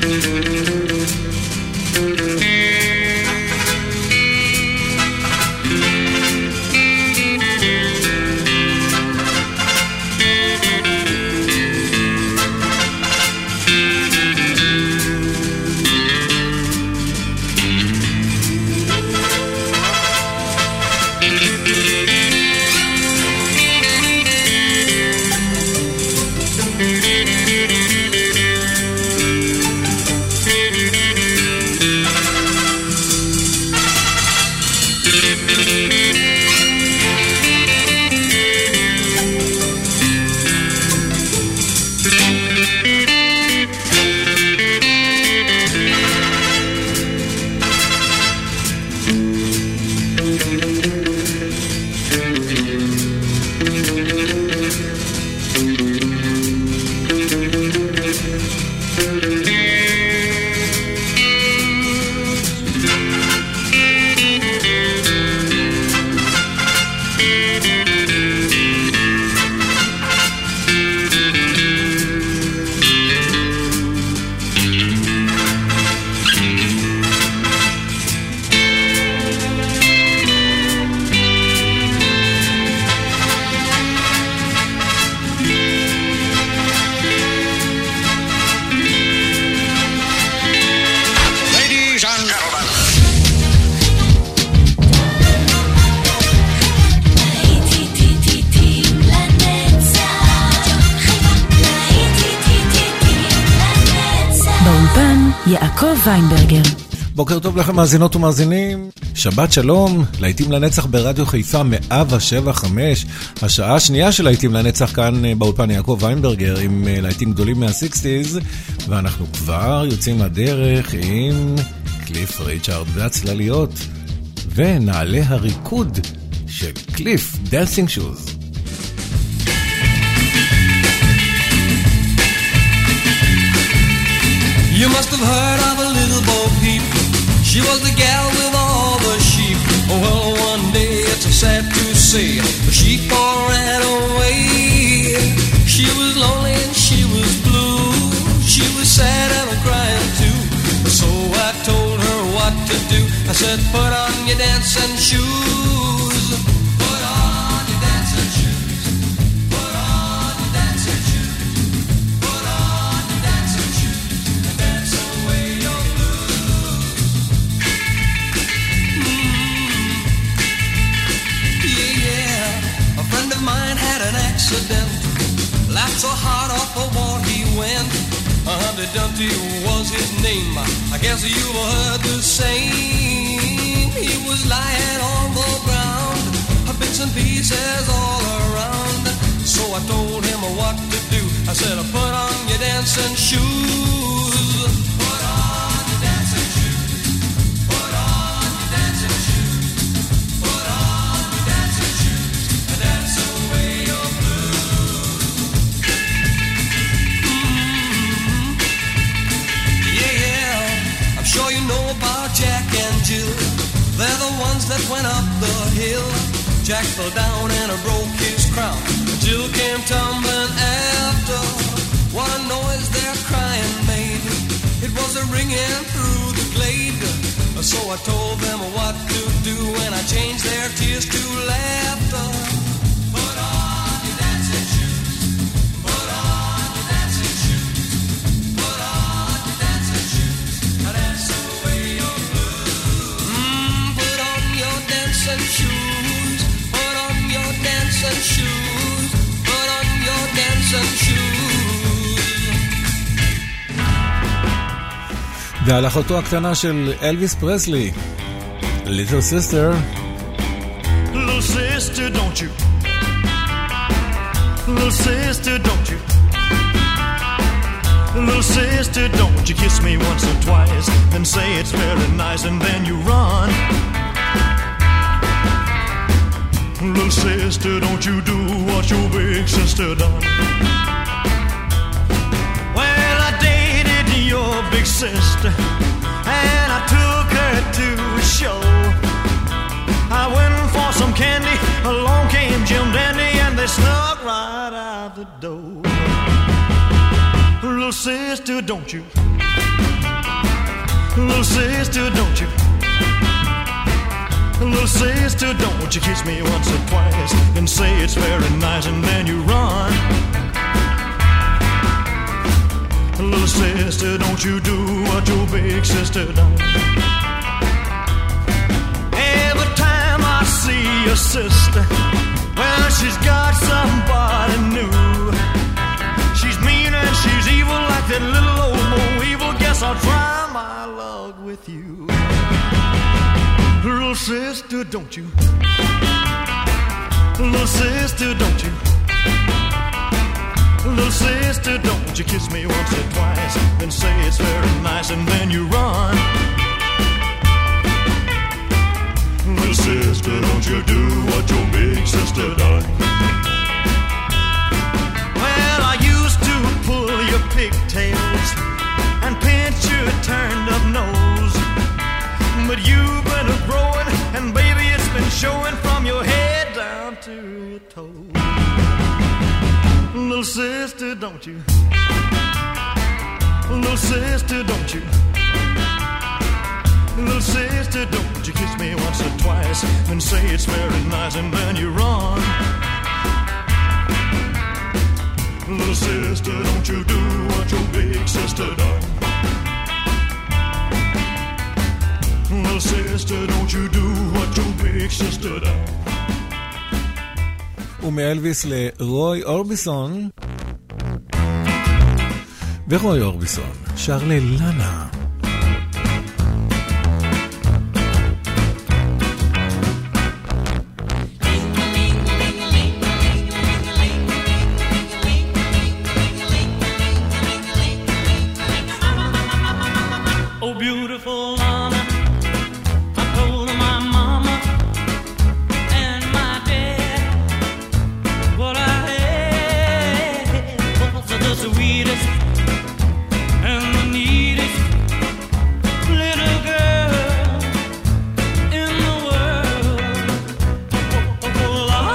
יעקב ויינברגר. בוקר טוב לכם מאזינות ומאזינים, שבת שלום, להיטים לנצח ברדיו חיפה 107.5, השעה השנייה של להיטים לנצח כאן באולפן יעקב ויינברגר עם להיטים גדולים מה-60s, ואנחנו כבר יוצאים לדרך עם קליף ריצ'ארד והצלליות, ונעלה הריקוד של קליף, Dancing Shoes. You must have heard of a little Bo Peep. She was the gal with all the sheep. Well, one day it's sad to say the sheep all ran away. She was lonely and she was blue. She was sad and crying too. So I told her what to do. I said, put on your dancing shoes. Put on your dancing shoes. Put on your dancing shoes. Put on your dancing shoes. Dance away your blues. Yeah. A friend of mine had an accident. Laughed so hard off the wall he went. Humpty Dumpty was his name. I guess you've heard the same. He was lying on the ground, bits and pieces all around. So I told him what to do. I said, put on your dancing shoes. Put on your dancing shoes. Put on your dancing shoes. Put on your dancing shoes. And dance away your blues. Yeah. I'm sure you know about Jack and Jill. They're the ones that went up the hill. Jack fell down and broke his crown. Jill came tumbling after. What a noise their crying made. It was a ringing through the glade. So I told them what to do, and I changed their tears to laughter. Put on your dancing shoes. Put on your dancing shoes. Put on your dancing shoes. And dance away your blues. Put on your dancing shoes. Put on your dancing shoes. Put on your dancing shoes. והלכתו הקטנה של אלוויס פרסלי, Little Sister. Little sister, don't you? Little sister, don't you? Little sister, don't you kiss me once or twice and say it's very nice and then you run. Little sister, don't you do what your big sister done. Well, I dated your big sister and I took her to a show. I went for some candy, along came Jim Dandy and they snuck right out the door. Little sister, don't you? Little sister, don't you? Little sister, don't you kiss me once or twice and say it's very nice and then you run. Little sister, don't you do what your big sister done. Every time I see your sister, well, she's got somebody new. She's mean and she's evil like that little old Mo Evil. Guess I'll try my luck with you. Little sister, don't you? Little sister, don't you? Little sister, don't you kiss me once or twice and say it's very nice and then you run. Little sister, don't you do what your big sister done. Well, I used to pull your pigtails and pinch your turned up nose, but you've been growing and baby it's been showing from your head down to your toes. Little sister, don't you? Little sister, don't you? Little sister, don't you kiss me once or twice and say it's very nice and then you run. Little sister, don't you do what your big sister done. Little sister, don't you do what your big sister done. ומאלוויס לרוי אורביסון, ורוי אורביסון שר ללנה. Oh, beautiful Lana, I told my mama and my dad what I had was the sweetest and the neatest little girl in the world. Oh,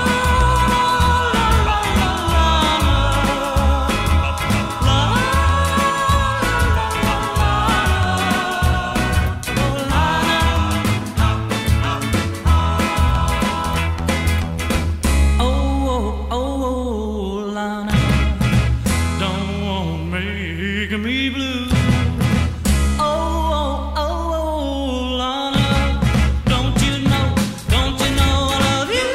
Lana, don't want make me blue. Lana, don't you know I love you?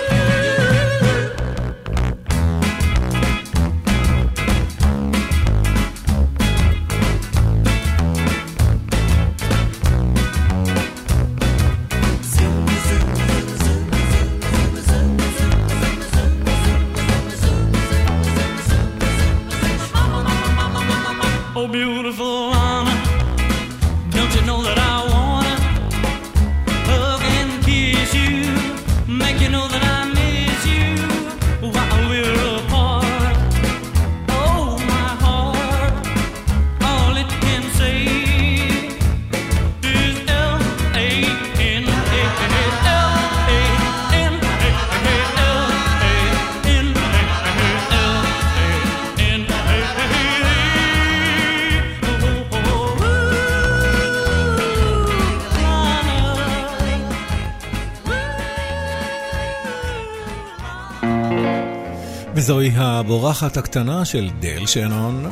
Oh, beautiful Lana, don't you know that I wanna hug and kiss you, make you know that I miss you while we're apart. Oh, my heart, all it can say is L-A-N-A, L-A-N-A, וזוהי הבורחת הקטנה של דייל שנון.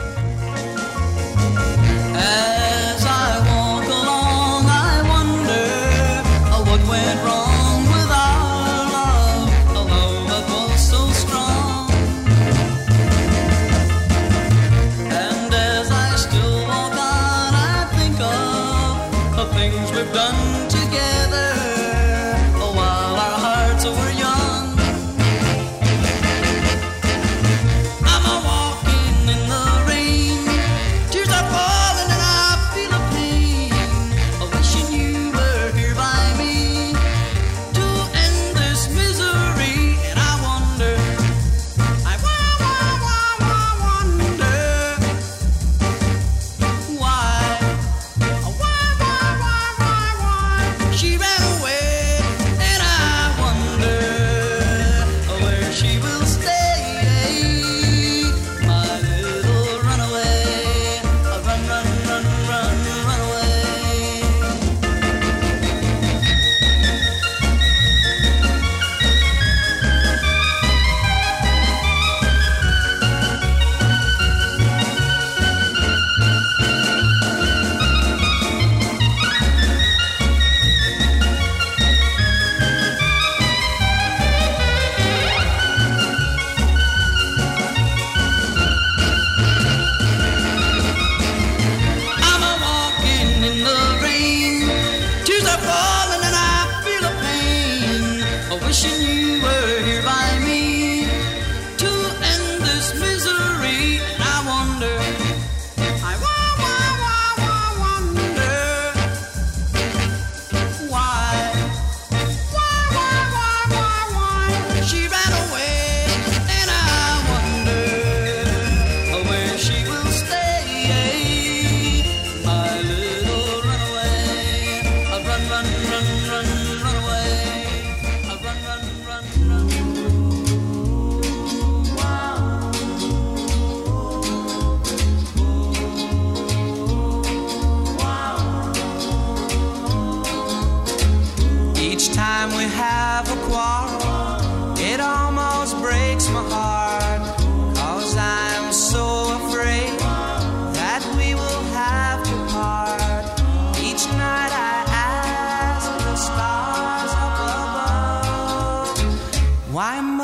As I walk along, I wonder what went wrong with our love, a love that was so strong. And as I still walk on, I think of the things we've done together while our hearts were young. I'm a walking in the rain, tears are falling and I feel a pain, wishing you were here by me to end this misery. And I wonder, I wonder why she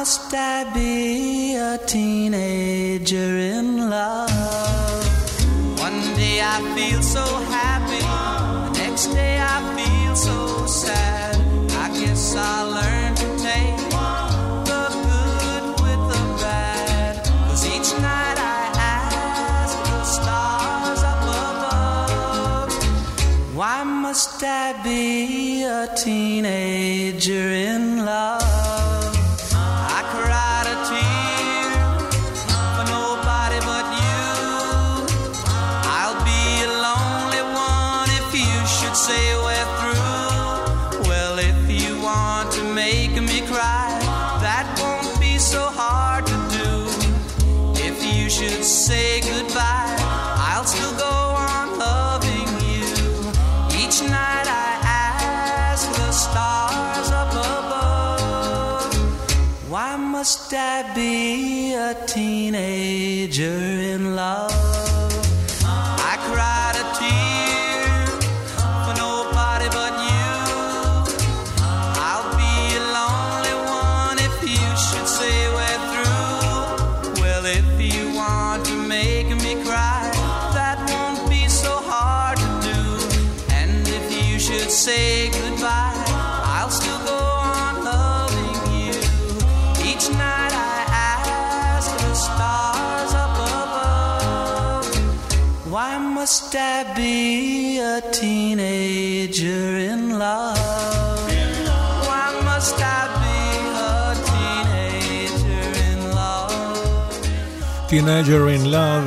must I be a teenager in love? One day I feel so happy, the next day I feel so sad. I guess I'll learn to take the good with the bad, 'cause each night I ask the stars up above, why must I be a teenager in love? I cried a tear for nobody but you. I'll be a lonely one if you should say we're through. Well, if you want to make me cry, that won't be so hard to do. If you should say goodbye, I'll still go on loving you. Each night I ask the stars up above, why must I be a teenager in love? I cried a tear for nobody but you. I'll be a lonely one if you should say we're through. Well, if you want to make me cry, that won't be so hard to do. And if you should say goodbye, I'll still go on loving you. Each night I ask the stars up above, why must I be a teenager in love? Why must I be a teenager in love? Teenager in Love,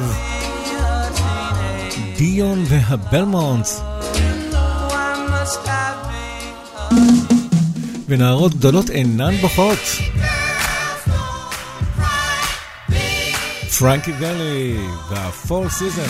דיון והבלמונטס. Why must I be ונערות גדולות אינן בוכות. פרנקי ואלי והפול סיזן.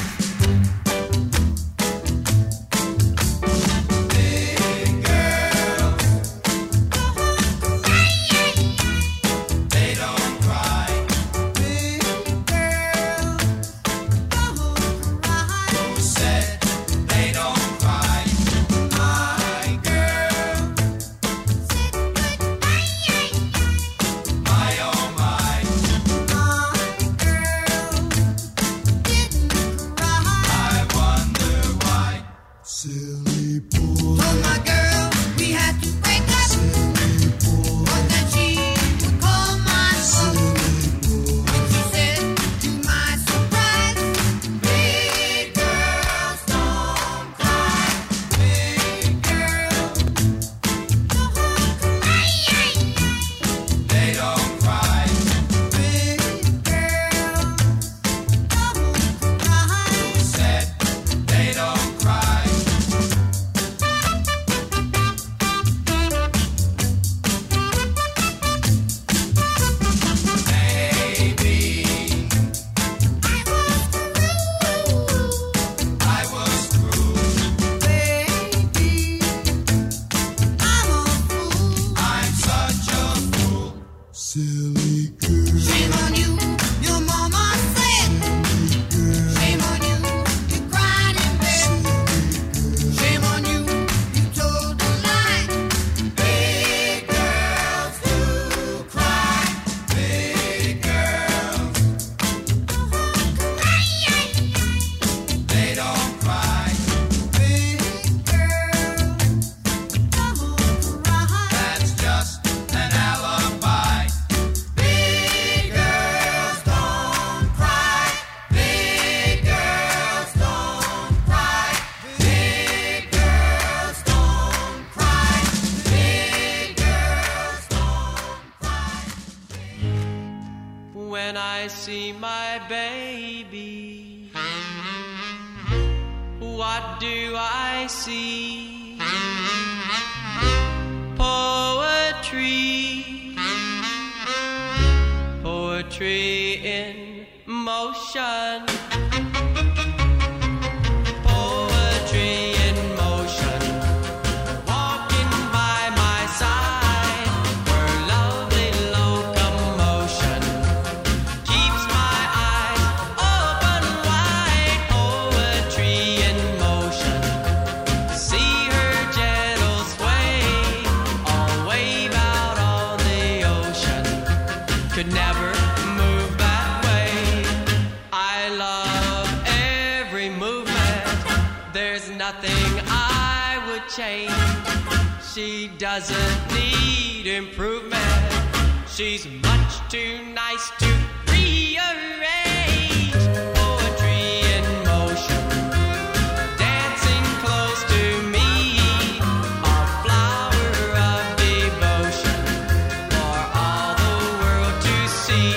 see my baby, what do I see? Poetry, poetry in motion. Poetry in motion, walking by my side, her lovely locomotion keeps my eyes open wide. Poetry in motion, see her gentle sway, all wave out on the ocean. There's nothing I would change. She doesn't need improvement. She's much too nice to rearrange. Poetry in motion, dancing close to me, a flower of devotion for all the world to see.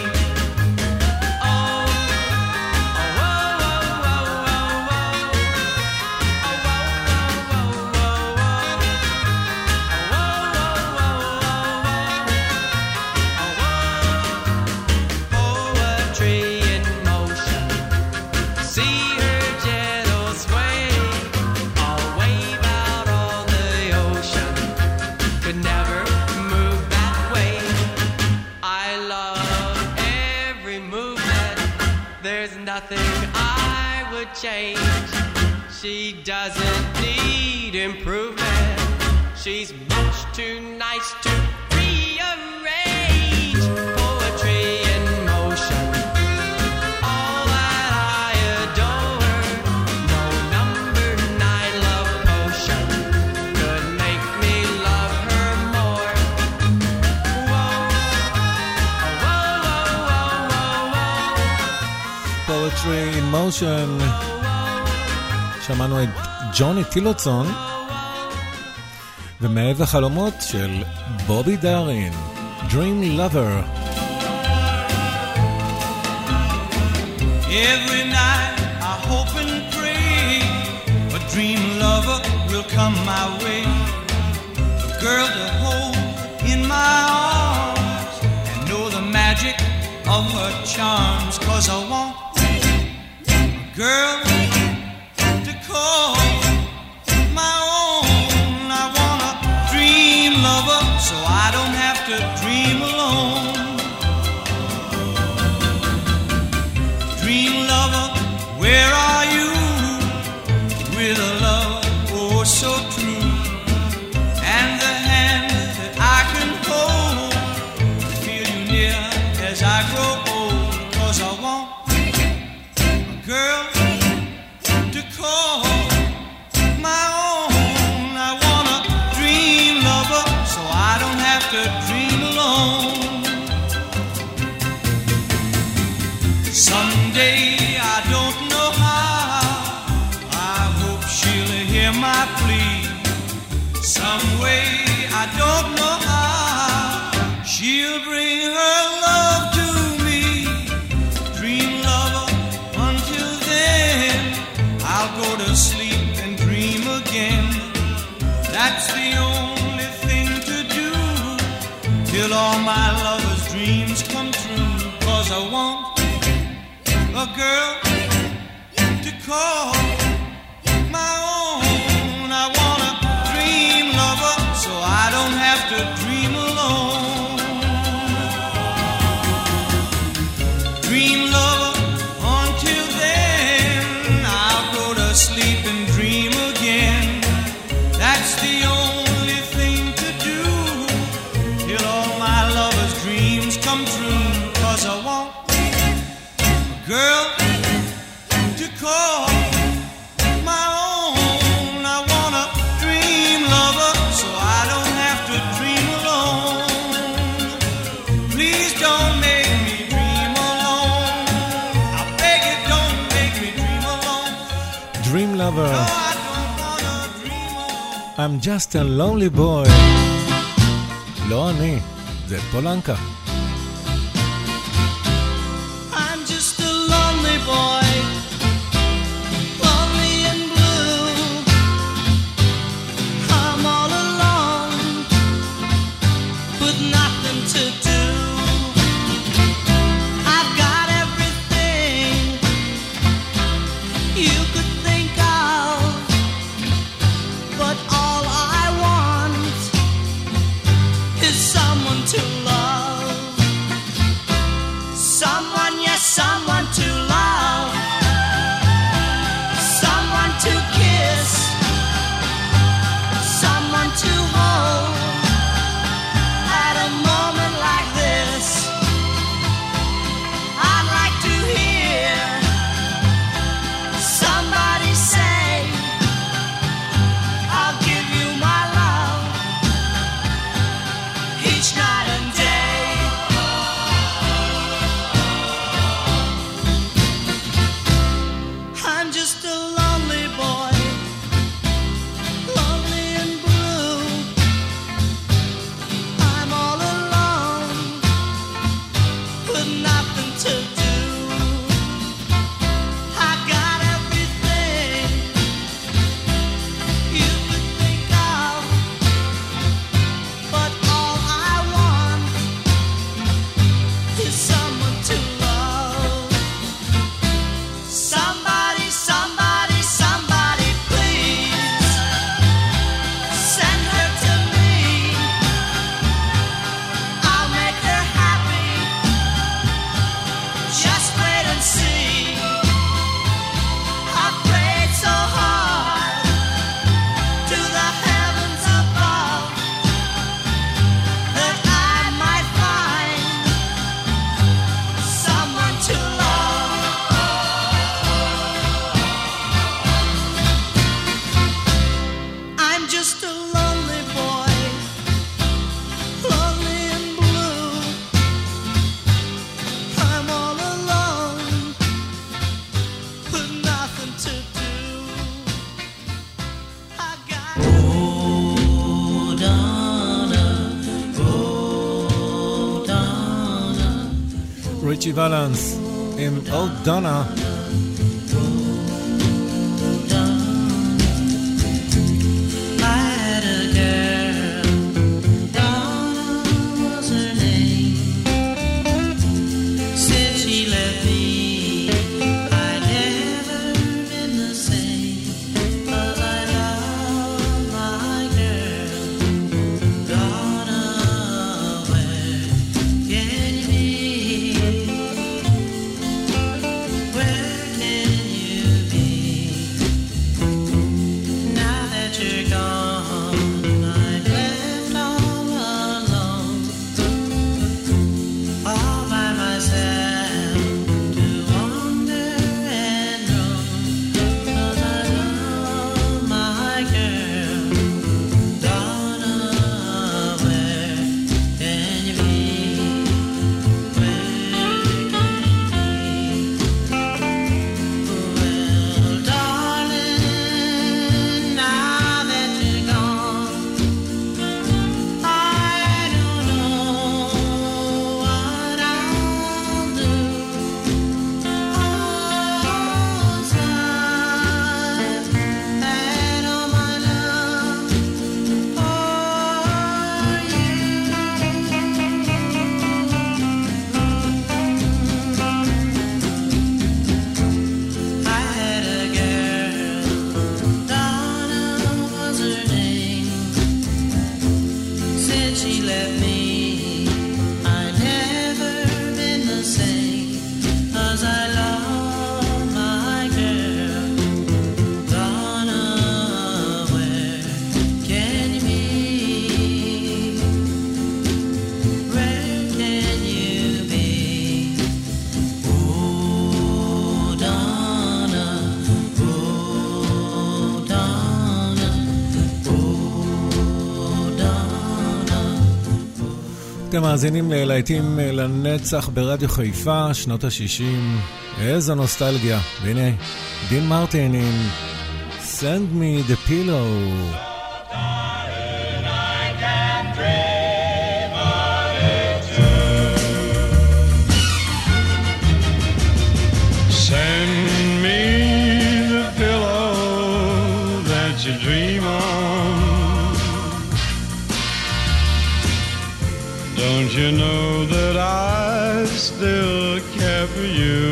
Change. She doesn't need improvement. She's much too nice to rearrange. Poetry in motion, all that I adore. No number 9 love potion could make me love her more. Whoa, whoa, whoa, whoa, whoa. Poetry in motion. שמענו את ג'וני טילוצון ומעז החלומות של בובי דארין, Dream Lover. Every night I hope and pray a dream lover will come my way, a girl to hold in my arms and know the magic of her charms, 'cause I want a girl to call my own. I want a dream lover so I don't have to dream alone. Dream lover, where are you? With a love oh so true, and the hand that I can hold, feel you near as I grow old. 'Cause I want a girl to call my own. I want a dream lover so I don't have to dream alone. Someday, I don't know how, I hope she'll hear my plea. Some way, I don't know how, she'll bring her love to me. Dream lover, until then I'll go to sleep and dream again. That's the only thing to do till all my lover's dreams come true. 'Cause I want a girl to call my own. I want a dream lover so I don't have to dream alone. Dream lover, until then I'll go to sleep and dream again. That's the only thing to do till all my lover's dreams come true. 'Cause I want a girl to call my own. I want a dream lover so I don't have to dream alone. Please don't make me dream alone. I beg you, don't make me dream alone. Dream Lover. No, I don't wanna dream alone. I'm just a lonely boy. לא אני, זה פולנקה. I'm just a lonely boy, lonely and blue. I'm all alone, with nothing to do. I've got everything you could think of, but all I want is someone to love. ריצ'י ולנס עם אולד דונה. אתם מאזינים ללהיטים לנצח ברדיו חיפה, שנות ה-60. איזו נוסטלגיה. והנה, דין מרטין עם Send Me the Pillow. Send me the pillow that you dream on. Don't you know that I still care for you?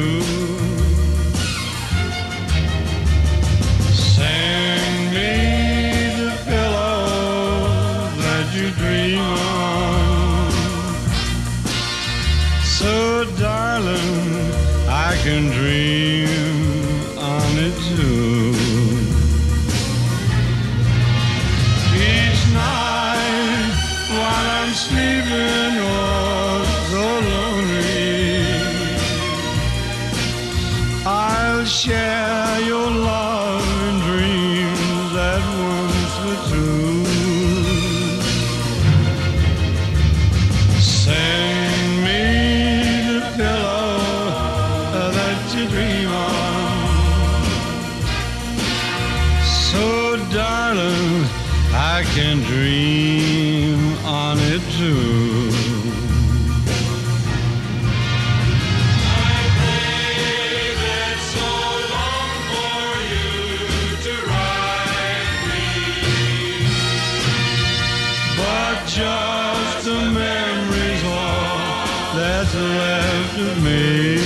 Send me the pillow that you dream on. So darling, I can dream on it too. Each night while I'm sleeping, oh so lonely, I'll share your love and dreams that once were true. Send me the pillow that you dream on. So darling, I can dream on it too. I waited so long for you to write me, but just the memories all that's left of me.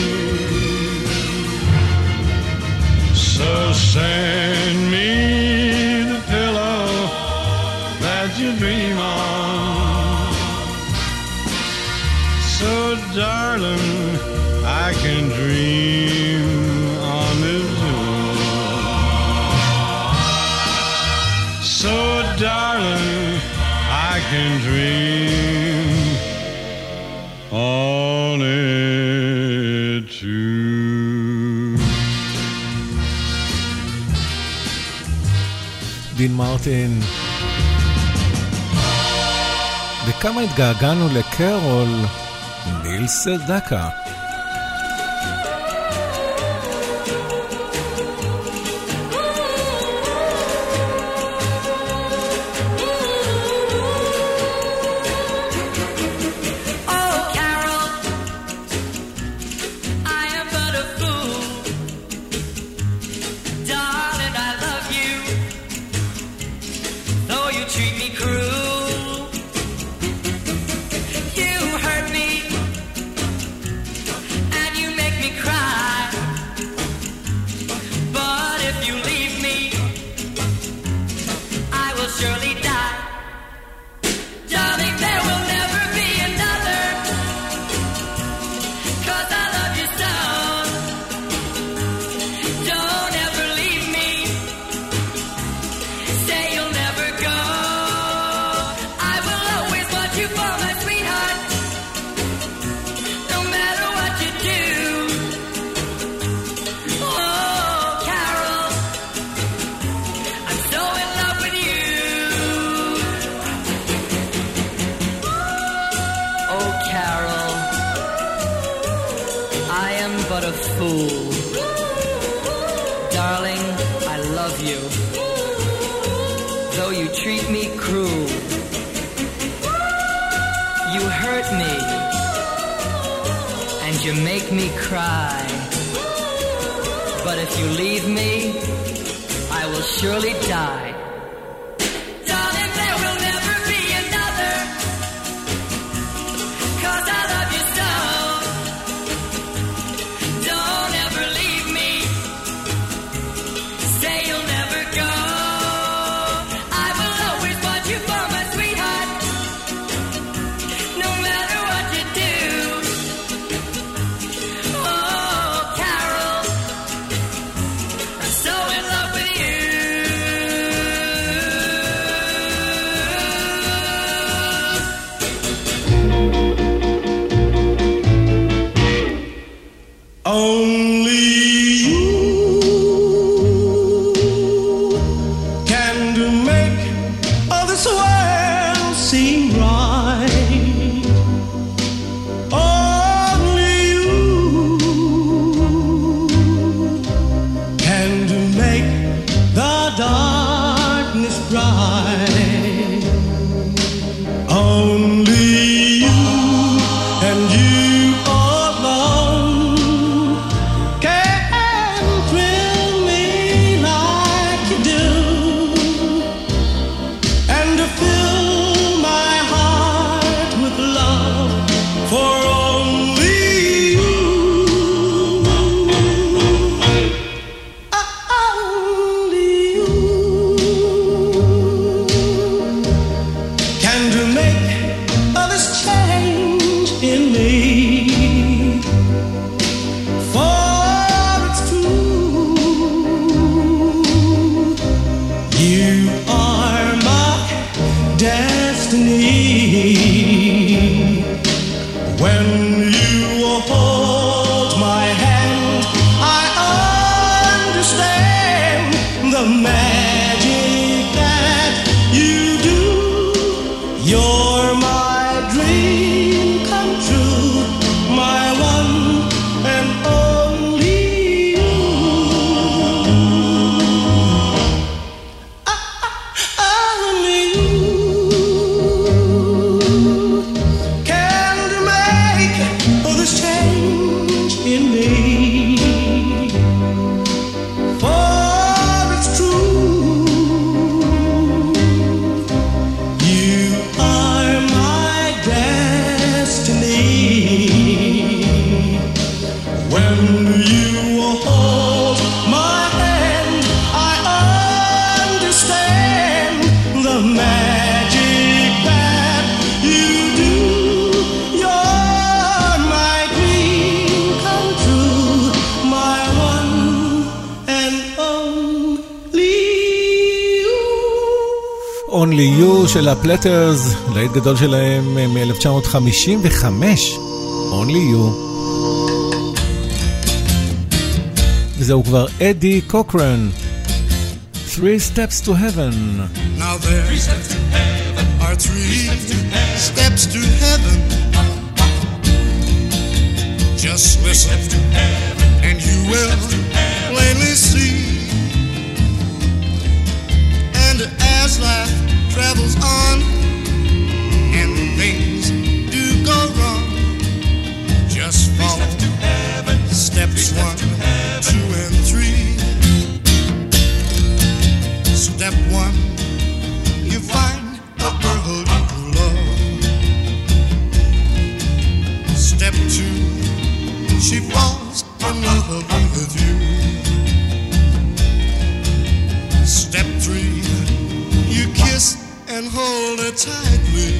So send me the pillow that you dream on. So darling, I can dream on it too. So darling, I can dream on it too. דין מרטין. וכמה התגעגענו לקרול, ניל סדקה. treat me cruel. You hurt me, and you make me cry. But if you leave me, I will surely die. Darling, there will never be another, 'cause I love you so. Don't ever leave me, say you'll never go. I will always want you for my sweetheart, no matter what you do. Oh, Carol, I'm so in love with you. Oh, Carol, I am but a fool. Darling, I love you, though you treat me cruel. You hurt me, and you make me cry. But if you leave me, I will surely die. Darling, there will never be another, 'cause I love you so. Don't ever leave me, say you'll never go. I will always want you for my sweetheart, no matter what you do. Oh, Carol, I'm so in love with you. Only you can make all this world seem right. Only you can make the darkness bright. Only you and you alone can thrill me like you do, and to fill my heart with love for only you. Only you can make all this change in me. For it's true, you are my destiny. When you hold my hand, I understand the magic that you do. You're my dream come true, my one and only you. Only you can make all this change in me. For it's true, you are my destiny. When you hold my hand, I understand the magic that you do. You're my dream come true, my one and only you. Only You של הפלטרס, להיט גדול שלהם מ-1955. Only You. וזהו כבר אדי קוקרן. Three Steps to Heaven. Now there are three steps to heaven. Just listen and you will plainly see. And as life travels on and things do go wrong, just follow steps 1, 2, and 3. Step 1, you find and hold her tightly.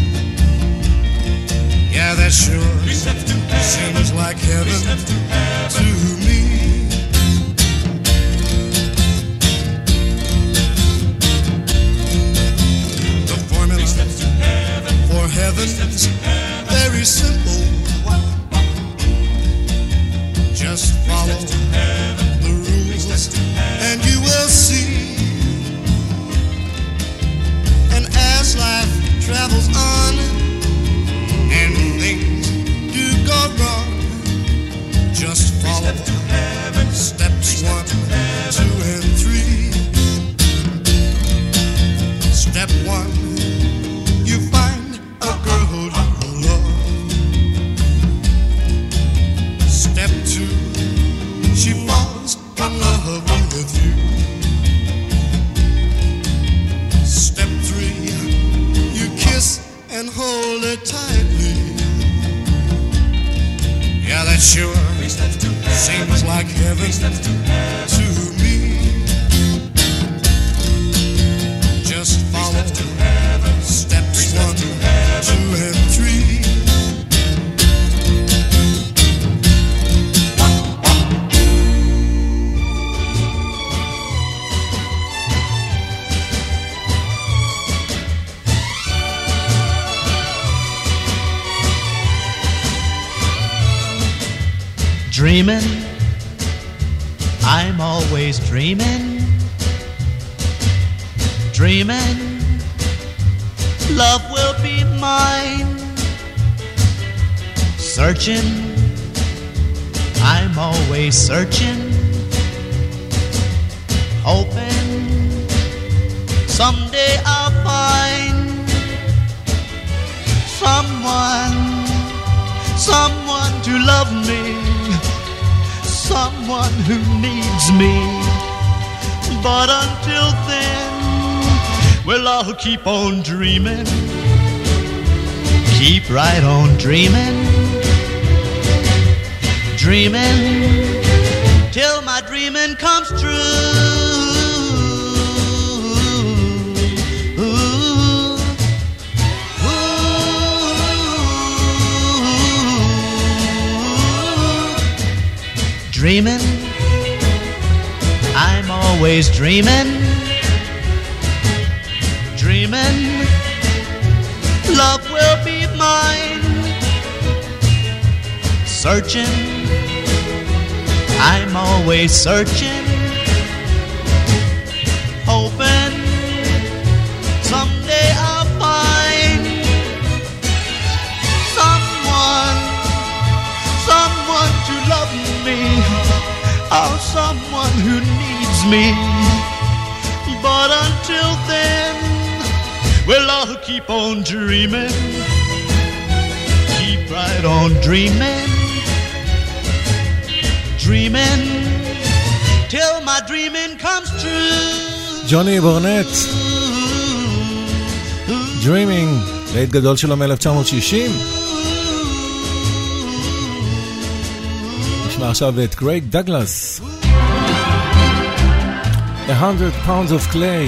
Yeah, that sure seems like heaven to me. The formula for heaven's very simple. Just follow the rules and you will see. And as life travels on and things do go wrong, just follow steps 1, 2, and 3. Step 1, you find a girl you love. Step 2, she falls in love with you. Step 3, you kiss and hold her tightly. Yeah, that sure seems like heaven to me. Just follow steps 1, 2, and 3. Dreaming, I'm always dreaming. Dreaming, love will be mine. Searching, I'm always searching. Hoping, someday I'll find someone to love me. Someone who needs me. But until then, well, I'll keep on dreaming. Keep right on dreaming. Dreaming till my dreaming comes true. Dreaming, I'm always dreaming. Dreaming, love will be mine. Searching, I'm always searching. Hoping someday I'll find someone to love me. Oh, someone who needs me. But until then, well, I'll keep on dreaming. Keep right on dreaming. Dreaming till my dreaming comes true. ג'וני בורנט, Dreaming, להיט גדול שלו מ-1960. נשמע עכשיו את גרייג דגלס, 100 pounds of clay.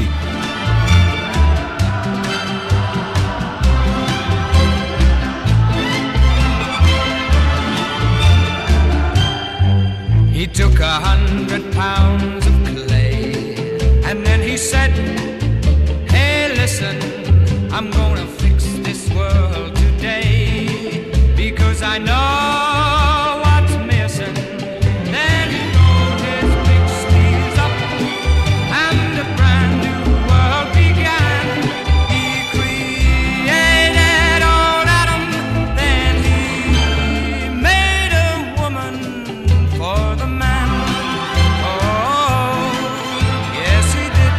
He took 100 pounds of clay and then he said, hey, listen, I'm gonna fix this world today because I know what's missing. Then he rolled his big sleeves up and a brand new world began. He created old Adam, then he made a woman for the man. Oh, yes he did.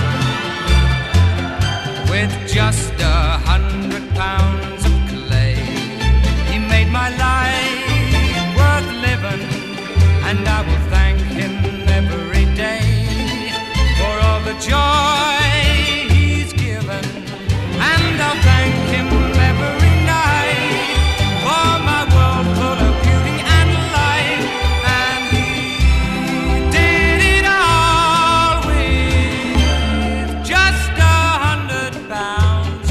With just 100 pounds of clay, he made my life worth living, and I will thank him every day for all the joy he's given, and I'll thank him every night for my world full of beauty and light. And he did it all with just 100 pounds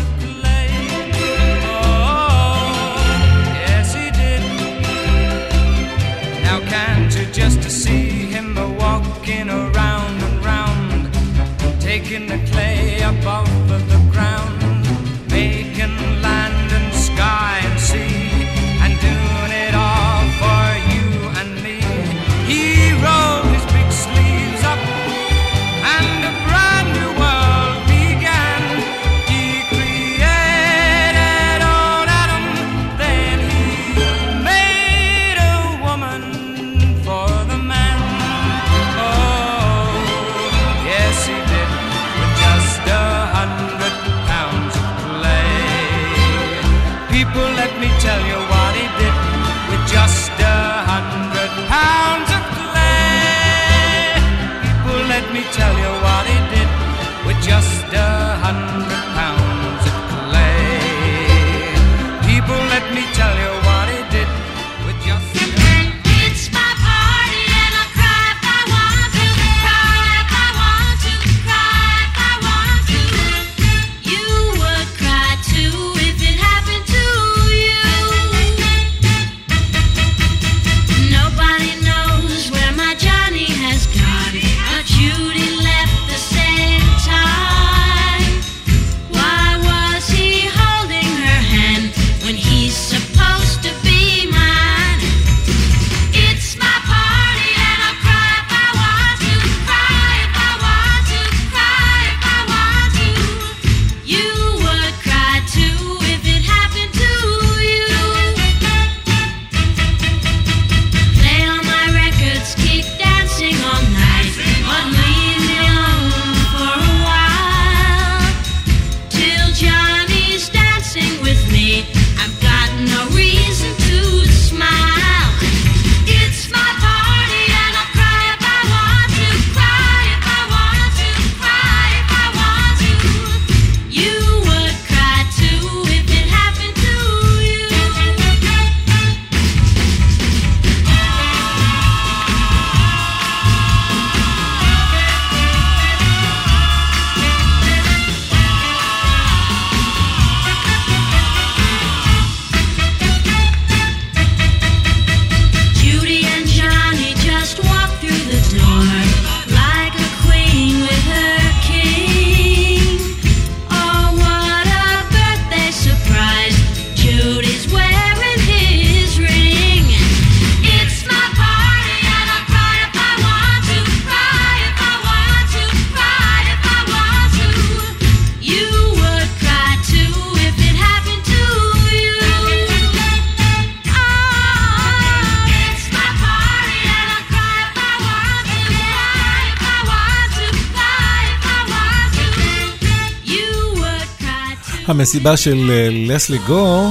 המסיבה של לסלי גור,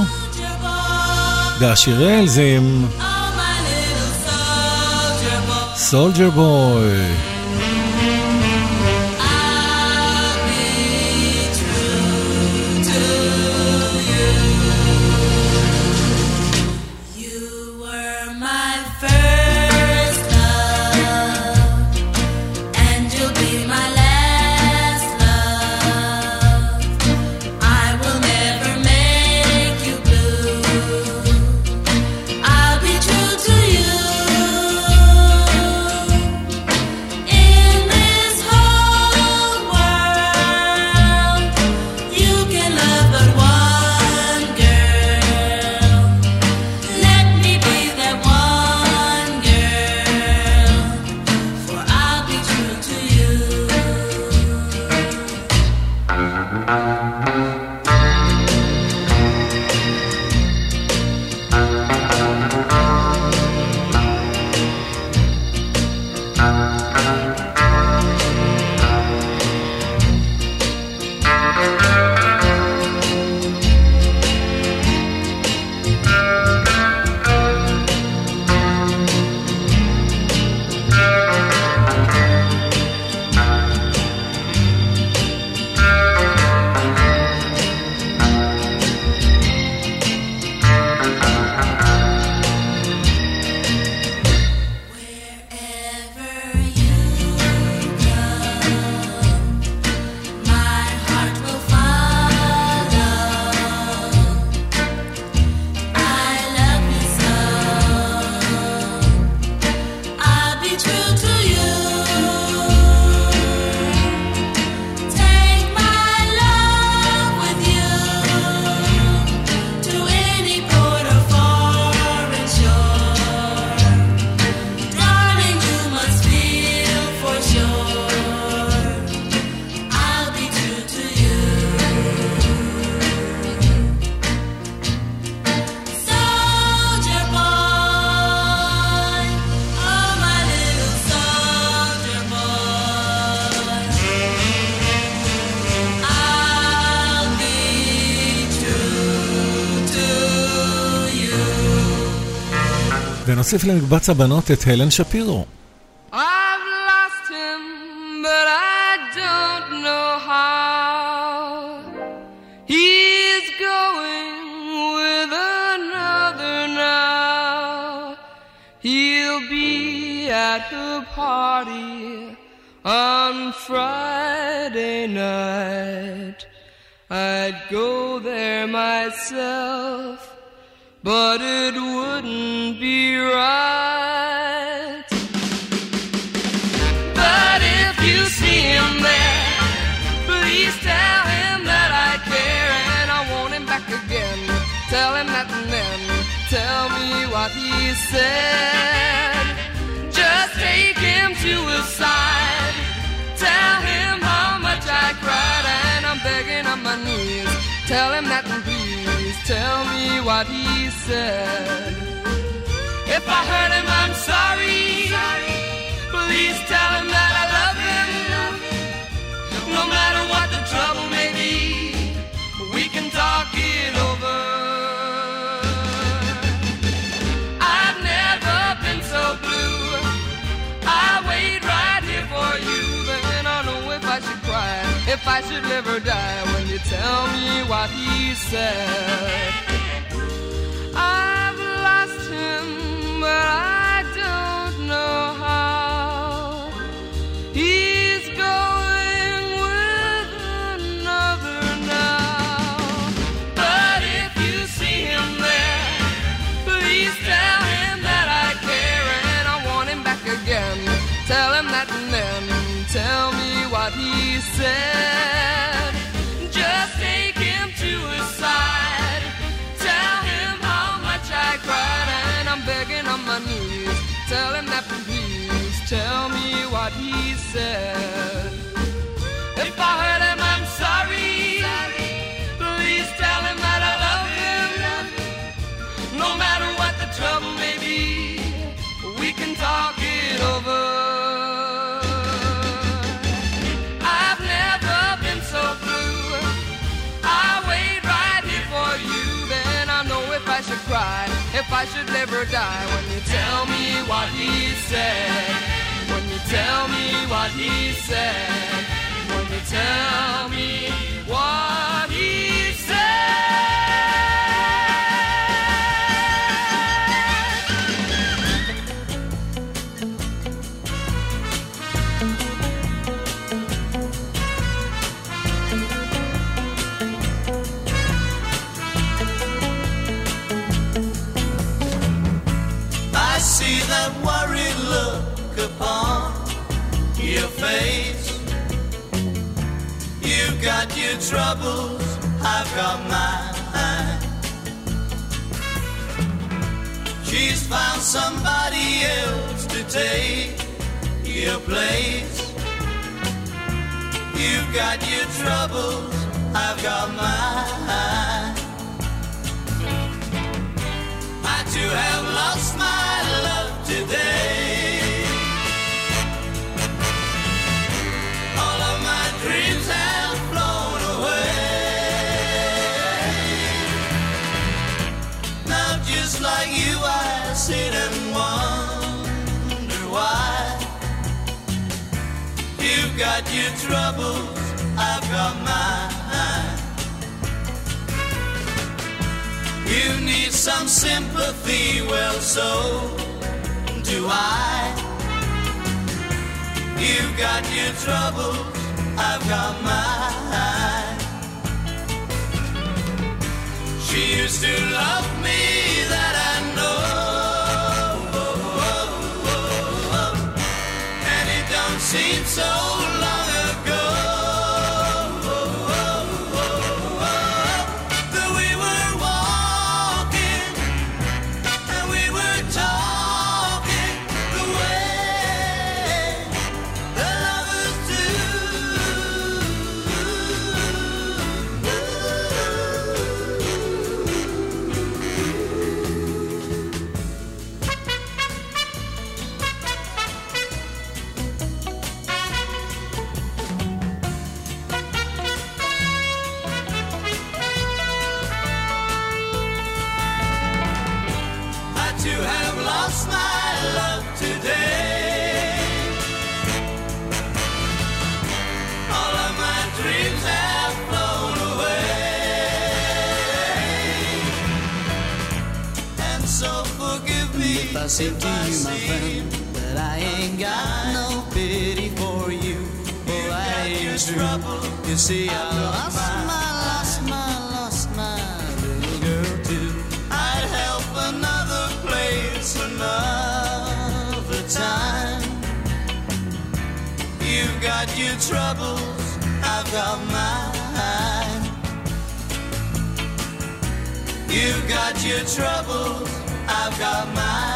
והשירל זה סולג'ר בוי. ונוסיף למקבץ הבנות את הלן שפירו. I've lost him, but I don't know how. He's going with another now. He'll be at her party on Friday night. I'd go there myself, but it wouldn't be right. But if you see him there, please tell him that I care and I want him back again. Tell him that and then tell me what he said. Just take him to his side. Tell him how much I cried and I'm begging on my knees. Tell him that and please tell me what he said. If I hurt him, I'm sorry. Please tell him that I love him. No matter what the trouble may be, we can talk it over. I've never been so blue. I wait right here for you. Then I know if I should cry, if I should live or die, when you tell me what he said. I've lost him, but I don't know how. He's going with another now. But if you see him there, please tell him that I care and I want him back again. Tell him that and then tell me what he said. Just take him to his side. Tell him how much I cried and I'm begging on my knees. Tell him that please tell me what he said. If I hurt him, I'm sorry. Please tell him that I love him. No matter what the trouble may be, we can talk it over. I've never been so blue. I wait if I should live or die. When you tell me what he said, when you tell me what he said, when you tell me what he said. I see that worried look upon your face. You've got your troubles, I've got mine. She's found somebody else to take your place. You've got your troubles, I've got mine. I too have lost my love today. All of my dreams have flown away. Now just like you I sit and wonder why. You've got your troubles, I've got mine. You need some sympathy, well so do I. You've got your troubles, I've got mine. She used to love me, that I know, and it don't seem so long ago. I say to you, my friend, that I ain't got no pity for you. Oh, I ain't true. You see, I lost my little girl too. I'd help another place another time. You've got your troubles, I've got mine. You've got your troubles, I've got mine.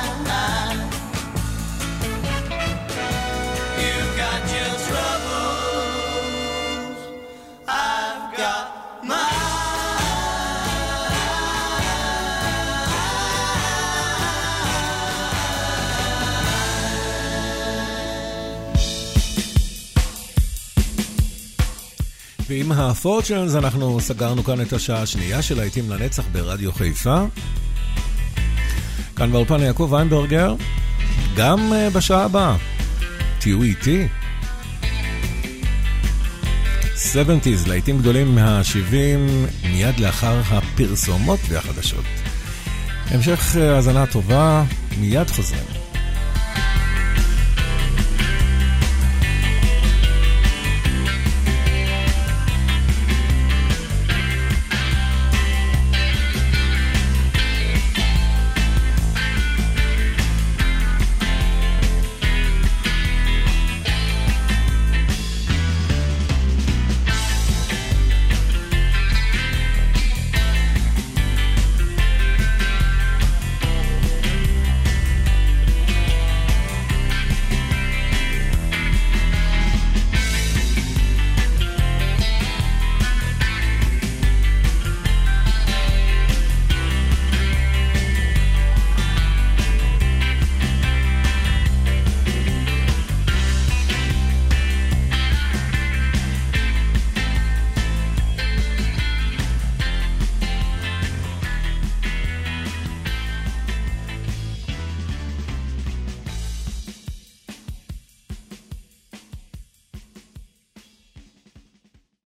You've got your troubles, I've got mine. ועם הפורצ'נס אנחנו סגרנו כאן את השעה השנייה של להיטים לנצח ברדיו חיפה. כאן באולפן יעקב ויינברגר, גם בשעה הבאה, תהיו איתי. 70s, להיטים גדולים מה-70, מיד לאחר הפרסומות והחדשות. המשך האזנה טובה, מיד חוזרים.